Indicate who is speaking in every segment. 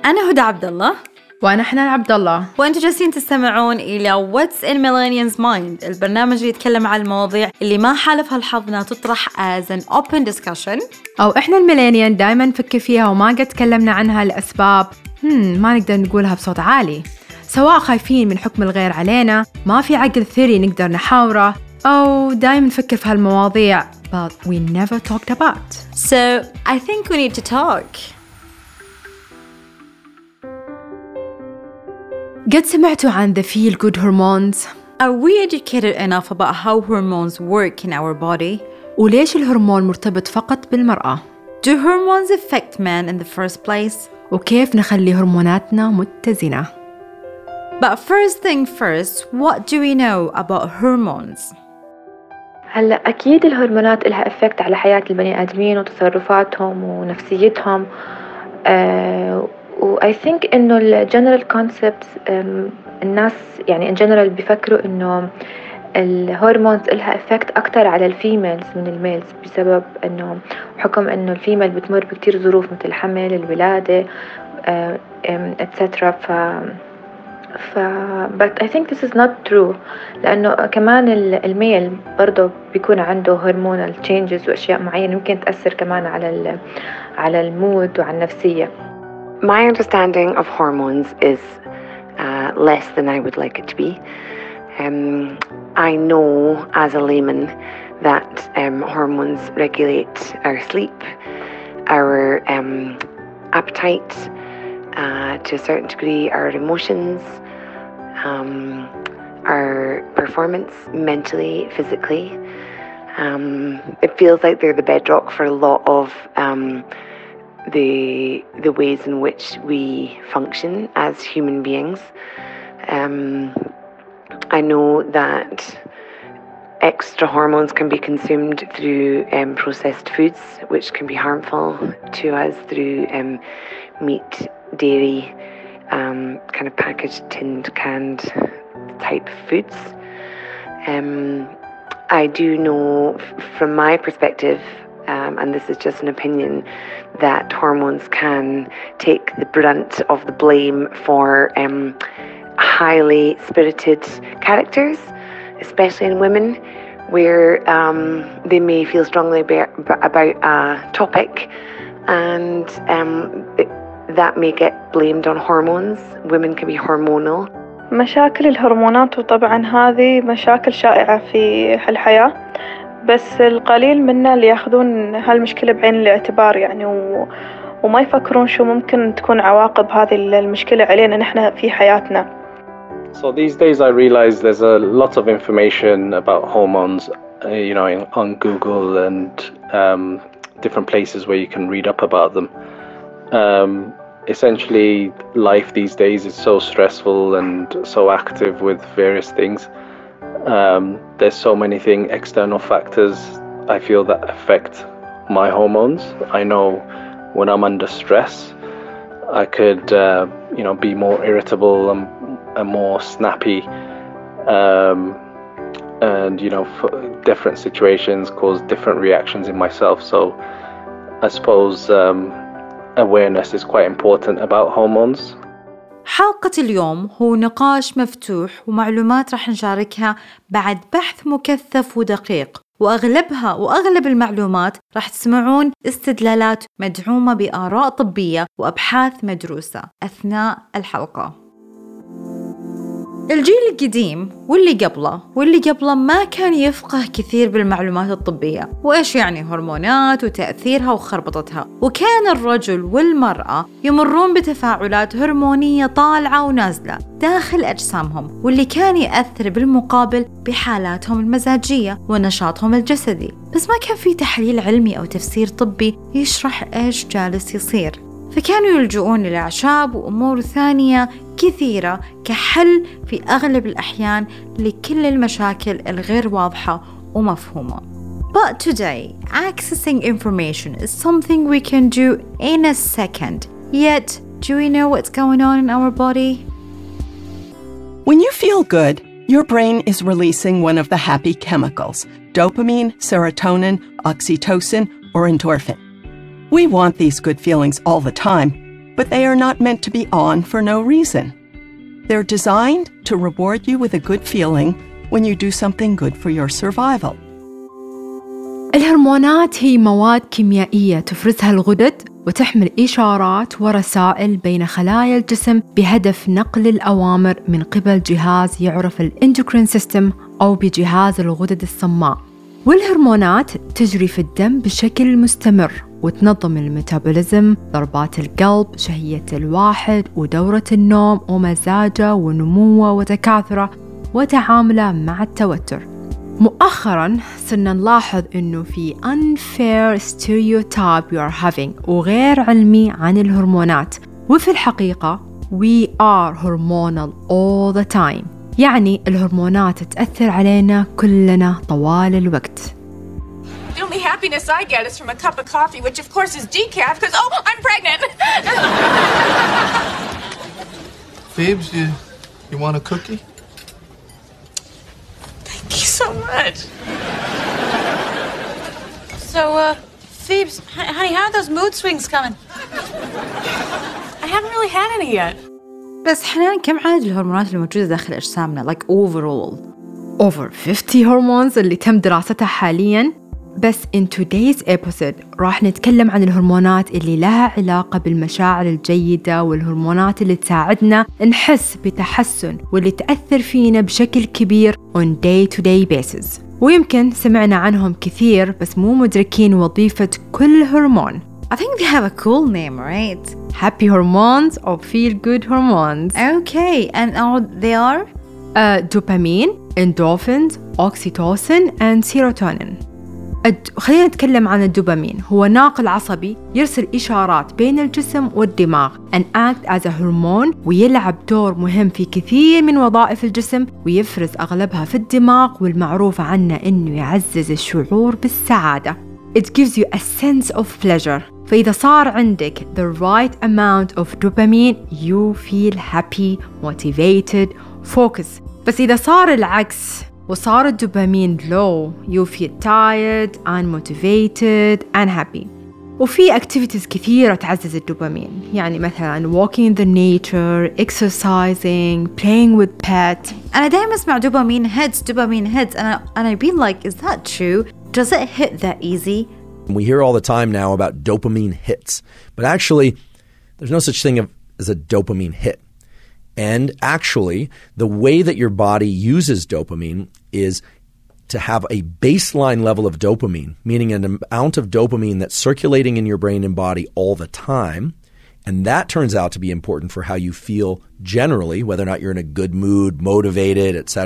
Speaker 1: أنا هدى عبد الله
Speaker 2: وأنا حنان عبد الله،
Speaker 1: وأنتوا جالسين تستمعون إلى What's in Millennials Mind، البرنامج اللي يتكلم عن المواضيع اللي ما حالفها الحظ إنها تطرح as an open discussion،
Speaker 2: أو إحنا الميلينيال دائما نفكر فيها وما قد تكلمنا عنها لأسباب ما نقدر نقولها بصوت عالي، سواء خايفين من حكم الغير علينا، ما في عقل ثري نقدر نحاوره، أو دائما نفكر في هالمواضيع but we never talked about.
Speaker 1: So I think we need to talk.
Speaker 2: قد سمعتوا عن the feel good hormones؟
Speaker 1: Are we educated enough about how hormones work in our body?
Speaker 2: وليش الهرمون مرتبط فقط بالمرأة؟
Speaker 1: Do hormones affect men in the first place?
Speaker 2: وكيف نخلي هرموناتنا متزنة؟
Speaker 1: But first thing first, what do we know about hormones?
Speaker 3: هلا أكيد الهرمونات لها إفكت على حياة البني آدمين وتصرفاتهم ونفسيتهم. و I think إنه ال general concepts الناس يعني in general بيفكروا إنه الهرمونز لها إفكت أكتر على الفيميلز من الميلز، بسبب إنه حكم إنه الفيميل بتمر بكتير ظروف مثل الحمل، الولادة etc. but I think this is not true، لأنه كمان الميل برضه بيكون عنده hormonal changes وأشياء معينة ممكن تأثر كمان على المود وعلى النفسية.
Speaker 4: My understanding of hormones is less than I would like it to be. I know as a layman that hormones regulate our sleep, our appetite, to a certain degree our emotions, our performance mentally, physically. It feels like they're the bedrock for a lot of the ways in which we function as human beings. I know that extra hormones can be consumed through processed foods, which can be harmful to us through meat, dairy, kind of packaged, tinned, canned type foods. I do know from my perspective, and this is just an opinion, that hormones can take the brunt of the blame for highly spirited characters, especially in women, where they may feel strongly about a topic, and that may get blamed on hormones. Women can be hormonal.
Speaker 5: مشاكل الهرمونات، وطبعا هذه مشاكل شائعة في الحياة، بس القليل منا اللي ياخذون هالمشكلة بعين الاعتبار يعني وما يفكرون شو ممكن تكون عواقب هذه المشكلة علينا نحن في حياتنا.
Speaker 6: So these days I realize there's a lot of information about hormones, on Google and different places where you can read up about them. Essentially, life these days is so stressful and so active with various things. There's so many external factors I feel that affect my hormones. I know when I'm under stress, I could, be more irritable and more snappy, and different situations cause different reactions in myself. So I suppose awareness is quite important about hormones.
Speaker 1: حلقة اليوم هو نقاش مفتوح ومعلومات راح نشاركها بعد بحث مكثف ودقيق، وأغلب المعلومات راح تسمعون استدلالات مدعومة بآراء طبية وأبحاث مدروسة أثناء الحلقة. الجيل القديم واللي قبله ما كان يفقه كثير بالمعلومات الطبية وإيش يعني هرمونات وتأثيرها وخربطتها، وكان الرجل والمرأة يمرون بتفاعلات هرمونية طالعة ونازلة داخل أجسامهم، واللي كان يأثر بالمقابل بحالاتهم المزاجية ونشاطهم الجسدي، بس ما كان في تحليل علمي أو تفسير طبي يشرح إيش جالس يصير، فكانوا يلجؤون للأعشاب وأمور ثانية كثيرة كحل في أغلب الأحيان لكل المشاكل الغير واضحة ومفهومة. But today, accessing information is something we can do in a second. Yet, do we know what's going on in our body?
Speaker 7: When you feel good, your brain is releasing one of the happy chemicals, dopamine, serotonin, oxytocin, or endorphin. We want these good feelings all the time, but they are not meant to be on for no reason. They're designed to reward you with a good feeling when you do something good for your survival.
Speaker 2: الهرمونات هي مواد كيميائية تفرزها الغدد وتحمل إشارات ورسائل بين خلايا الجسم بهدف نقل الأوامر من قبل جهاز يعرف الإندوكرين سيستم أو بجهاز الغدد الصماء. والهرمونات تجري في الدم بشكل مستمر وتنظم الميتابوليزم، ضربات القلب، شهية الواحد ودورة النوم ومزاجه ونموه وتكاثره وتعامله مع التوتر. مؤخراً صرنا نلاحظ إنه في unfair stereotype we are having وغير علمي عن الهرمونات، وفي الحقيقة we are hormonal all the time. يعني الهرمونات تأثر علينا كلنا طوال الوقت.
Speaker 8: The only happiness I get is from a cup of coffee, which of course is decaf because, oh, I'm pregnant.
Speaker 9: Phoebes, you want a cookie?
Speaker 8: Thank you so much. So, Phoebes, honey, how are those mood swings coming? I haven't really had any yet.
Speaker 1: بس حنان كم عدد الهرمونات الموجودة داخل أجسامنا like overall؟
Speaker 2: Over 50 هرمونز اللي تم دراستها حالياً. بس in today's episode راح نتكلم عن الهرمونات اللي لها علاقة بالمشاعر الجيدة والهرمونات اللي تساعدنا نحس بتحسن واللي تأثر فينا بشكل كبير on day-to-day basis. ويمكن سمعنا عنهم كثير بس مو مدركين وظيفة كل هرمون.
Speaker 1: I think they have a cool name, right?
Speaker 2: Happy hormones or feel-good hormones.
Speaker 1: Okay, and they are?
Speaker 2: Dopamine, endorphins, oxytocin and serotonin. خلينا نتكلم عن الدوبامين. هو ناقل عصبي يرسل إشارات بين الجسم والدماغ and act as a hormone ويلعب دور مهم في كثير من وظائف الجسم ويفرز أغلبها في الدماغ والمعروف عنه إنه يعزز الشعور بالسعادة. It gives you a sense of pleasure. فإذا صار عندك the right amount of dopamine you feel happy, motivated, focused. بس إذا صار العكس وصار الدوبامين low you feel tired, unmotivated, unhappy. وفي activities كثيرة تعزز الدوبامين، يعني مثلا walking in the nature, exercising, playing with pet.
Speaker 1: أنا دائما أسمع دوبامين hits and I be like, is that true? Does it hit that easy?
Speaker 10: We hear all the time now about dopamine hits, but actually there's no such thing as a dopamine hit. And actually, the way that your body uses dopamine is to have a baseline level of dopamine, meaning an amount of dopamine that's circulating in your brain and body all the time. And that turns out to be important for how you feel generally, whether or not you're in a good mood, motivated, etc.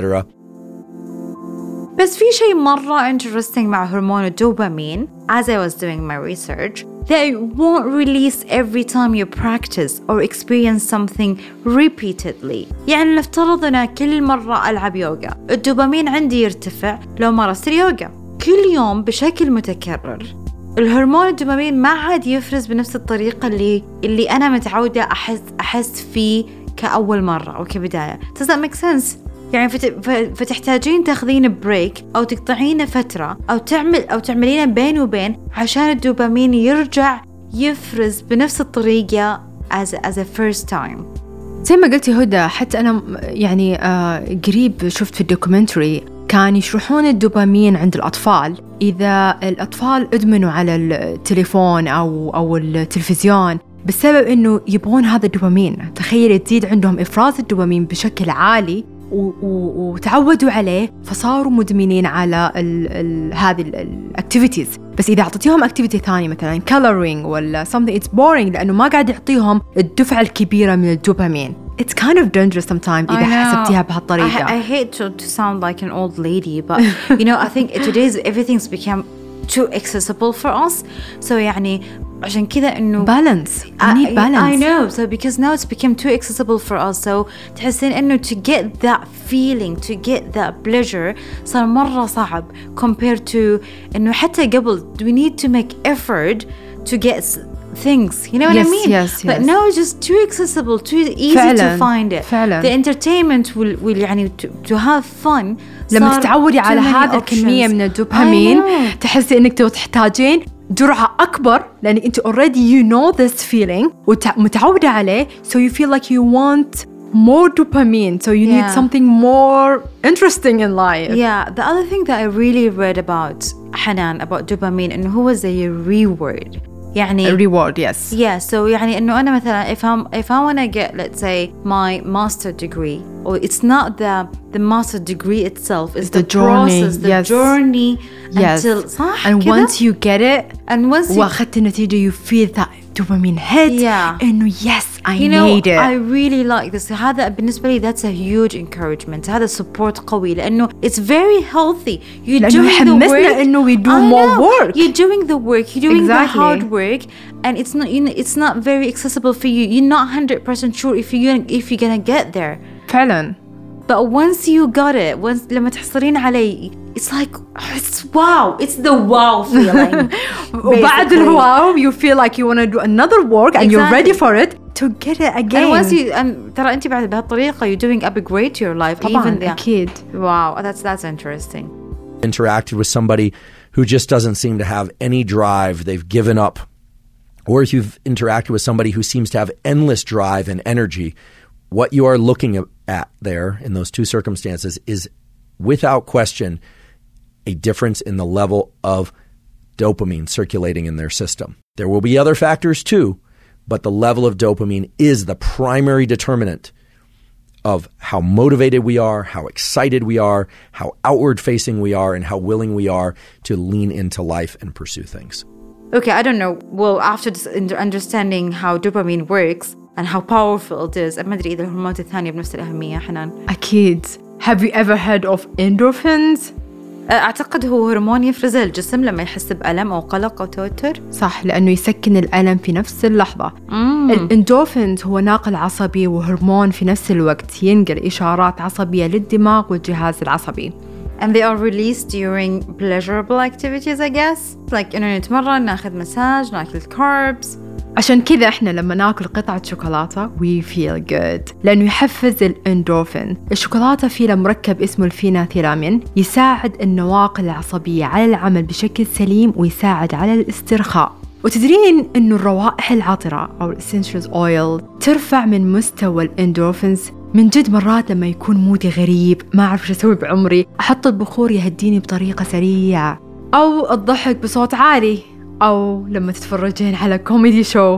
Speaker 1: بس في شيء مرة interesting مع هرمون الدوبامين as I was doing my research that it won't release every time you practice or experience something repeatedly. يعني نفترض أنا كل مرة ألعب يوغا الدوبامين عندي يرتفع لو مارست اليوغا كل يوم بشكل متكرر. الهرمون الدوبامين ما عاد يفرز بنفس الطريقة اللي أنا متعودة أحس فيه كأول مرة أو كبداية. Does that make sense؟ يعني فتحتاجين تاخذين بريك أو تقطعين فترة أو تعملين بين وبين عشان الدوبامين يرجع يفرز بنفس الطريقة as a first time.
Speaker 2: زي ما قلتي هدى، حتى أنا يعني قريب شفت في الدوكومنتري كان يشرحون الدوبامين عند الأطفال. إذا الأطفال أدمنوا على التليفون أو التلفزيون بسبب إنه يبغون هذا الدوبامين، تخيل تزيد عندهم إفراز الدوبامين بشكل عالي وتعودوا عليه فصاروا مدمنين على هذه الاكتيفيتيز. بس إذا أعطيتهم اكتيفيتي ثاني مثلا coloring ولا something it's boring لأنه ما قاعد يعطيهم الدفعة الكبيرة من الدوبامين. It's kind of dangerous sometimes إذا حسبتيها بهالطريقة.
Speaker 1: I hate to sound like an old lady but you know I think today's everything's become too accessible for us. So يعني عشان كذا إنه
Speaker 2: balance. You need balance.
Speaker 1: I know. So because now it's become too accessible for us. So تحسين إنه to get that feeling, to get that pleasure صار مرة صعب compared to إنه حتى قبل we need to make effort to get things. You know what I mean?
Speaker 2: Yes.
Speaker 1: But now it's just too accessible, too easy to find it.
Speaker 2: فعلا.
Speaker 1: The entertainment will يعني to have fun.
Speaker 2: لما تتعودي على هذا الكمية من الدوبامين تحسي إنك تحتاجين جرعة أكبر لأنك أنت already you know this feeling ومتعودة عليه, so you feel like you want more dopamine, so you need something more interesting in life.
Speaker 1: Yeah, the other thing that I really read about حنان about dopamine إنه هو زي reward. يعني
Speaker 2: a reward, yes.
Speaker 1: Yeah, so يعني إنه أنا مثلا if I want to get, let's say, my master degree, or it's not the master degree itself, it's the
Speaker 2: journey,
Speaker 1: process, the journey until صح
Speaker 2: and
Speaker 1: كده?
Speaker 2: once you get it
Speaker 1: and once you
Speaker 2: وأخذت النتيجة, you feel that dopamine hit. إنه yes, I made it.
Speaker 1: I really like this. هذا بالنسبة لي that's a huge encouragement. هذا support قوي لأنه it's very healthy. You're doing the work.
Speaker 2: إنه we do more work.
Speaker 1: You're doing the work. You're doing the hard work, and it's not very accessible for you. You're not 100% sure if you're gonna get there.
Speaker 2: فعلا.
Speaker 1: But once you got it, لما تحصلين عليه, it's like it's wow. It's the wow feeling.
Speaker 2: وبعد الواو you feel like you want to do another work and you're ready for it to get it again.
Speaker 1: And once you ترى أنت بعد بهالطريقة you're doing upgrade to your life.
Speaker 2: طبعاً
Speaker 1: even
Speaker 2: أكيد.
Speaker 1: Wow, that's interesting.
Speaker 10: Interacted with somebody who just doesn't seem to have any drive, they've given up, or if you've interacted with somebody who seems to have endless drive and energy, what you are looking at there in those two circumstances is without question a difference in the level of dopamine circulating in their system. There will be other factors too, but the level of dopamine is the primary determinant of how motivated we are, how excited we are, how outward-facing we are, and how willing we are to lean into life and pursue things.
Speaker 1: Okay, I don't know. Well, after this understanding how dopamine works and how powerful it is, ما أدري إذا الهرمونات الثانية بنفس الأهمية حنان.
Speaker 2: أكيد. Have you ever heard of endorphins?
Speaker 1: أعتقد هو هرمون يفرزه الجسم لما يحس بألم أو قلق أو توتر.
Speaker 2: صح, لأنه يسكن الألم في نفس اللحظة. الإندورفينز هو ناقل عصبي وهرمون في نفس الوقت ينقل إشارات عصبية للدماغ والجهاز العصبي.
Speaker 1: And they are released during pleasurable activities, I guess. Like إنه نتمرن, ناخذ مساج, ناكل carbs.
Speaker 2: عشان كذا إحنا لما ناكل قطعة شوكولاتة we feel good لأنه يحفز الإندورفين. الشوكولاتة فيها مركب اسمه الفيناثيرامين يساعد النواقل العصبية على العمل بشكل سليم ويساعد على الاسترخاء. وتدرين إنه الروائح العطرة أو essential oil ترفع من مستوى الإندورفينز. من جد مرات لما يكون مودي غريب ما أعرف شو أسوي بعمري أحط البخور يهديني بطريقة سريعة, أو الضحك بصوت عالي, أو لما تتفرجين على كوميدي شو.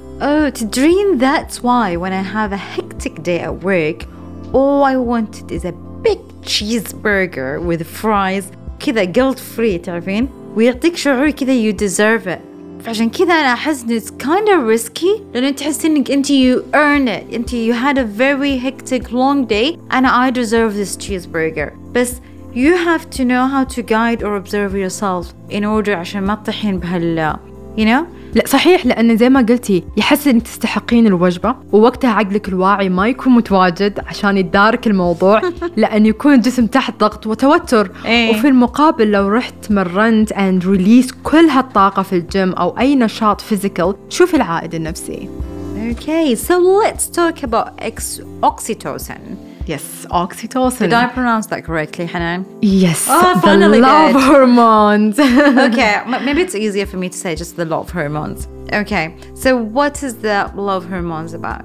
Speaker 1: تدرين that's why when I have a hectic day at work all I wanted is a big cheeseburger with fries كذا guilt free تعرفين, ويعطيك شعور كذا you deserve it. فعشان كذا أنا أحس إنه it's kind of risky لأنه تحسين إنك أنت you earn it, أنت you had a very hectic long day and I deserve this cheeseburger. بس you have to know how to guide or observe yourself in order عشان ما تطيحين بهال you know.
Speaker 2: لا صحيح, لأن زي ما قلتي يحس إنك تستحقين الوجبة ووقتها عقلك الواعي ما يكون متواجد عشان يدارك الموضوع لأن يكون الجسم تحت ضغط وتوتر. وفي المقابل لو رحت تمرنت and release كل هالطاقة في الجيم أو أي نشاط physical, شوف العائد النفسي.
Speaker 1: Okay, so let's talk about oxytocin.
Speaker 2: Yes, oxytocin.
Speaker 1: Did I pronounce that correctly, Hanan?
Speaker 2: Yes,
Speaker 1: oh,
Speaker 2: the love hormones.
Speaker 1: Okay, maybe it's easier for me to say just the love hormones. Okay, so what is the love hormones about?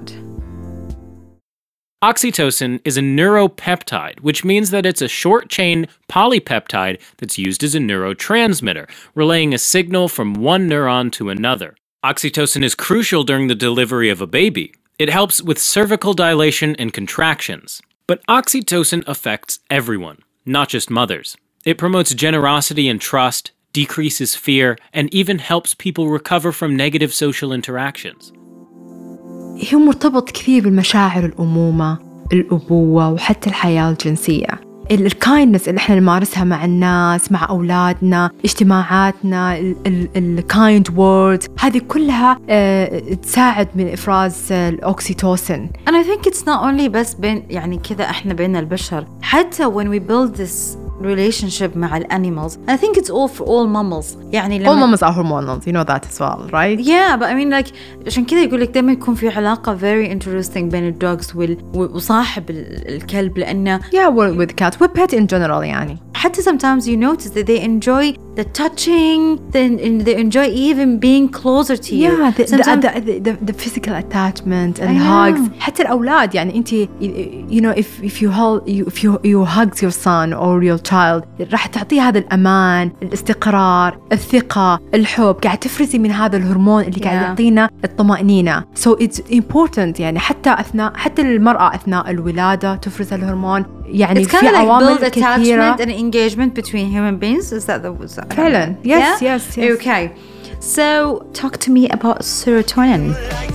Speaker 11: Oxytocin is a neuropeptide, which means that it's a short-chain polypeptide that's used as a neurotransmitter, relaying a signal from one neuron to another. Oxytocin is crucial during the delivery of a baby. It helps with cervical dilation and contractions. But oxytocin affects everyone, not just mothers. It promotes generosity and trust, decreases fear, and even helps people recover from negative social interactions.
Speaker 2: هو مرتبط كثير بالمشاعر الأمومة, الأبوة, وحتى الحياة الجنسية. الكايندنس اللي احنا نمارسها مع الناس, مع أولادنا, اجتماعاتنا, الكايند وورد, هذه كلها تساعد من إفراز الأوكسيتوسين.
Speaker 1: And I think it's not only بس بين يعني كذا احنا بين البشر, حتى when we build this relationship مع الانيمالز. I think it's all for all mammals. يعني
Speaker 2: all mammals are hormonal, you know that as well, right?
Speaker 1: Yeah, but I mean like عشان كذا يقول لك دائما يكون في علاقة very interesting بين الدوغز وصاحب الكلب لأنه
Speaker 2: yeah, well, with cat, with pet in general يعني.
Speaker 1: حتى sometimes you notice that they enjoy the touching, they enjoy even being closer to you.
Speaker 2: Yeah, the physical attachment and hugs. حتى الأولاد يعني أنت you know if you hug your son or your child راح تعطيه هذا الأمان، الاستقرار، الثقة، الحب، قاعد تفرزي من هذا الهرمون اللي قاعد يعطينا الطمأنينة. So it's important يعني حتى المرأة أثناء الولادة تفرز الهرمون. يعني في عوامل كثيرة.
Speaker 1: It's kind of like build attachment and engagement between human beings. Is that the
Speaker 2: فعلا. Yes, yeah? yes.
Speaker 1: Okay. So talk to me about serotonin.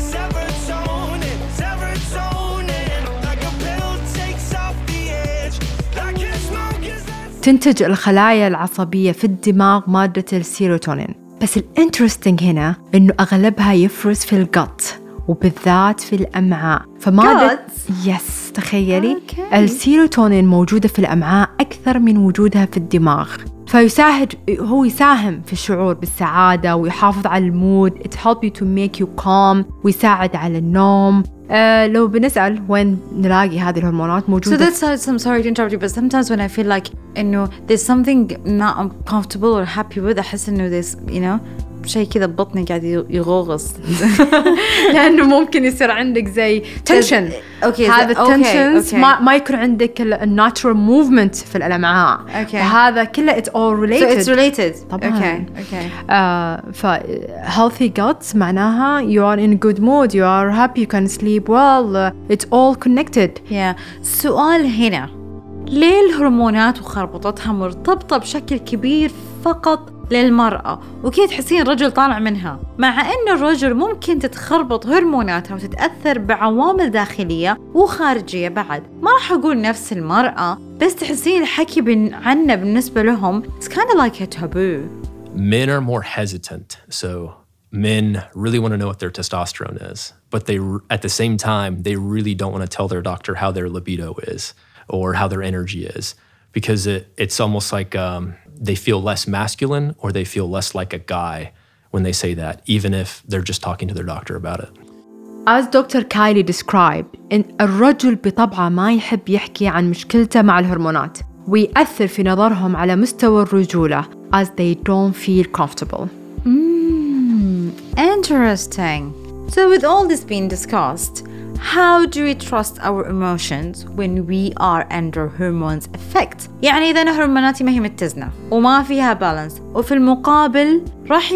Speaker 2: تنتج الخلايا العصبية في الدماغ مادة السيروتونين، بس الانترستينج هنا إنه أغلبها يفرز في الجت وبالذات في الأمعاء. فمادة يس تخيلي السيروتونين موجودة في الأمعاء أكثر من وجودها في الدماغ، هو يساهم في الشعور بالسعادة ويحافظ على المود. It helps you to make you calm ويساعد على النوم. لو بنسأل وين نلاقي هذه الهرمونات موجودة.
Speaker 1: So that's I'm sorry to interrupt you, but sometimes when I feel like إنه there's something not comfortable or happy with, أحس إنه there's you know شيء كذا ببطني قاعد يغوغص.
Speaker 2: لأنه ممكن يصير عندك زي tension. هذا tensions ما يكون عندك natural movement في الأمعاء. هذا كله it's all related.
Speaker 1: So it's related.
Speaker 2: طبعاً. healthy gut معناها you are in good mood, you are happy, you can sleep well, it's all connected.
Speaker 1: Yeah. سؤال هنا، ليه الهرمونات وخربطتها مرتبطة بشكل كبير فقط للمرأة وكي تحسين الرجل طالع منها، مع أن الرجل ممكن تتخربط هرموناتها وتتأثر بعوامل داخلية وخارجية بعد؟ ما راح أقول نفس المرأة، بس تحسين الحكي عنه بالنسبة لهم it's kind of like a taboo.
Speaker 12: Men are more hesitant, so men really want to know what their testosterone is, but they at the same time they really don't want to tell their doctor how their libido is or how their energy is, because it's almost like they feel less masculine or they feel less like a guy when they say that, even if they're just talking to their doctor about it.
Speaker 2: As Dr. Kylie described, إن الرجل بطبعه ما يحب يحكي عن مشكلته مع الهرمونات ويأثر في نظرهم على مستوى الرجولة as they don't feel comfortable.
Speaker 1: Interesting. So with all this being discussed, how do we trust our emotions when we are under hormones effect؟ يعني إذا أنا هرموناتي ما هي متزنة وما فيها بالانس، وفي المقابل راح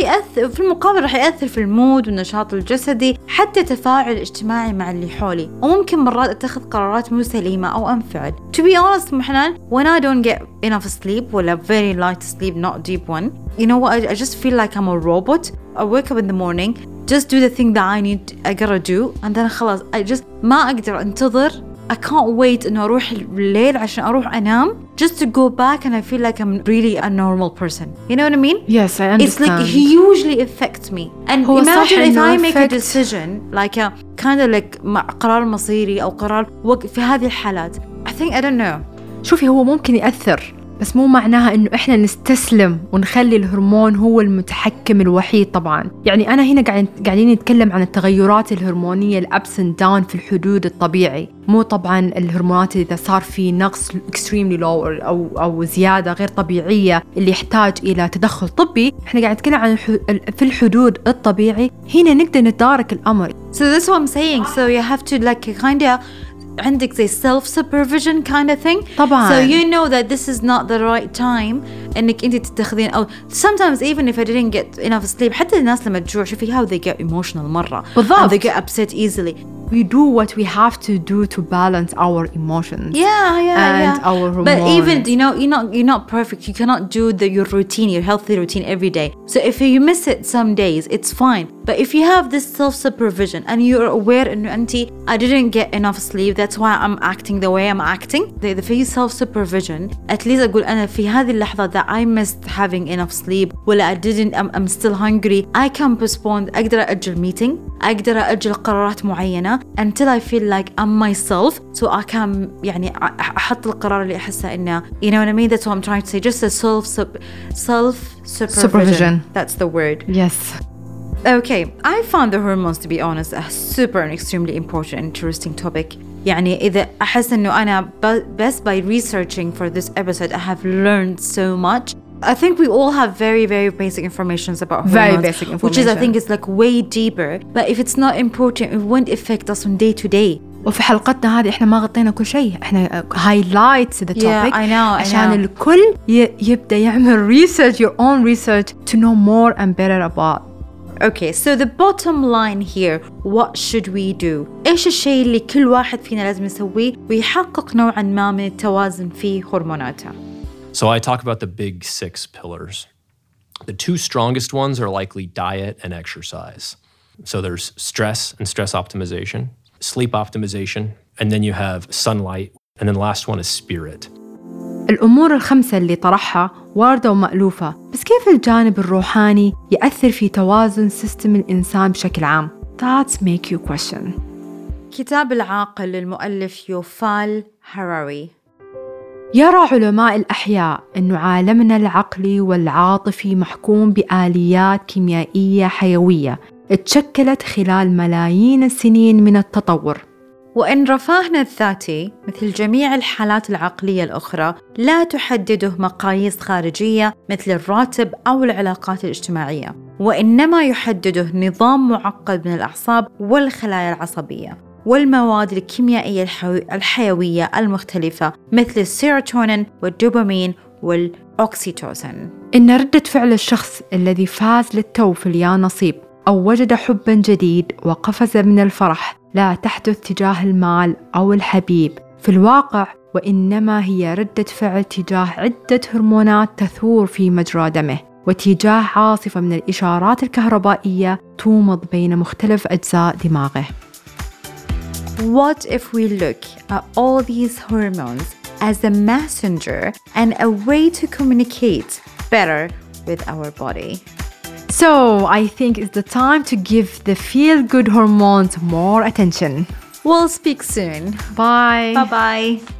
Speaker 1: يأثر في المود والنشاط الجسدي، حتى التفاعل الاجتماعي مع اللي حولي، وممكن مرات أتخذ قرارات مو سليمة أو أنفعل. To be honest محنان, when I don't get enough sleep ولا very light sleep, not deep one, you know what, I just feel like I'm a robot. I wake up in the morning, just do the thing that I gotta do, and then خلاص I just ما أقدر أنتظر. I can't wait إنه أروح الليل عشان أروح أنام just to go back and I feel like I'm really a normal person. You know what I mean?
Speaker 2: Yes, I understand.
Speaker 1: It's like he usually affects me. And imagine if I make a decision like a kind of like قرار مصيري أو قرار في هذه الحالات. I think I don't know.
Speaker 2: شوفي هو ممكن يأثر بس مو معناها إنه إحنا نستسلم ونخلي الهرمون هو المتحكم الوحيد. طبعاً يعني أنا هنا قاعدين نتكلم عن التغيرات الهرمونية الأبس and down في الحدود الطبيعي، مو طبعاً الهرمونات إذا صار في نقص extremely low أو زيادة غير طبيعية اللي يحتاج إلى تدخل طبي. إحنا قاعد نتكلم عن في الحدود الطبيعي، هنا نقدر نتدارك الأمر.
Speaker 1: So that's what I'm saying. So you have to like kind of عندك زي self-supervision kind of thing.
Speaker 2: طبعاً.
Speaker 1: So you know that this is not the right time إنك أنت تتخذين أو sometimes even if I didn't get enough sleep. حتى الناس لما تجوع شوفي how they get emotional مرة.
Speaker 2: بالضبط.
Speaker 1: They get upset easily.
Speaker 2: We do what we have to do to balance our emotions. And our hormones.
Speaker 1: But even you're not perfect. You cannot do your routine, your healthy routine every day. So if you miss it some days, it's fine. But if you have this self-supervision and you're aware إنه أنتي I didn't get enough sleep, that's why I'm acting the way I'm acting. إذا في self-supervision, at least أقول أنا في هذه اللحظة that I missed having enough sleep ولا I didn't, I'm still hungry. I can postpone. أقدر أجل meeting. أقدر أجل قرارات معينة. معينة until I feel like I'm myself so I can يعني أحط القرار اللي أحسه إنه you know what I mean. That's what I'm trying to say. Just a self-supervision. That's the word.
Speaker 2: Yes.
Speaker 1: Okay, I found the hormones, to be honest, a super and extremely important and interesting topic. يعني إذا أحس إنه أنا best by researching for this episode I have learned so much. I think we all have very, very basic information about hormones.
Speaker 2: Very basic information.
Speaker 1: Which is, I think, is like way deeper. But if it's not important, it won't affect us on day to day.
Speaker 2: وفي حلقتنا هذه إحنا ما غطينا كل شيء. إحنا highlights the topic.
Speaker 1: Yeah, I know.
Speaker 2: عشان الكل يبدأ يعمل research, your own research to know more and better about.
Speaker 1: Okay, so the bottom line here, what should we do? إيش الشيء اللي كل واحد فينا لازم يسويه ويحقق نوعاً ما من التوازن في هرموناته?
Speaker 12: So I talk about the big 6 pillars. The 2 strongest ones are likely diet and exercise. So there's stress and stress optimization, sleep optimization, and then you have sunlight, and then the last one is spirit.
Speaker 2: الأمور ال5 اللي طرحها واردة ومألوفة، بس كيف الجانب الروحاني يأثر في توازن سيستم الإنسان بشكل عام؟ That make you question.
Speaker 1: كتاب العاقل للمؤلف يوفال هراري.
Speaker 2: يرى علماء الأحياء أن عالمنا العقلي والعاطفي محكوم بآليات كيميائية حيوية اتشكلت خلال ملايين السنين من التطور،
Speaker 1: وإن رفاهنا الذاتي مثل جميع الحالات العقلية الأخرى لا تحدده مقاييس خارجية مثل الراتب أو العلاقات الاجتماعية، وإنما يحدده نظام معقد من الأعصاب والخلايا العصبية والمواد الكيميائية الحيوية المختلفة مثل السيروتونين والدوبامين والأوكسيتوسين.
Speaker 2: إن ردة فعل الشخص الذي فاز للتو في اليا نصيب أو وجد حباً جديد وقفز من الفرح لا تحدث تجاه المال أو الحبيب في الواقع، وإنما هي ردة فعل تجاه عدة هرمونات تثور في مجرى دمه وتجاه عاصفة من الإشارات الكهربائية تومض بين مختلف أجزاء دماغه.
Speaker 1: What if we look at all these hormones as a messenger and a way to communicate better with our body?
Speaker 2: So I think it's the time to give the feel-good hormones more attention.
Speaker 1: We'll speak soon.
Speaker 2: Bye.
Speaker 1: Bye-bye.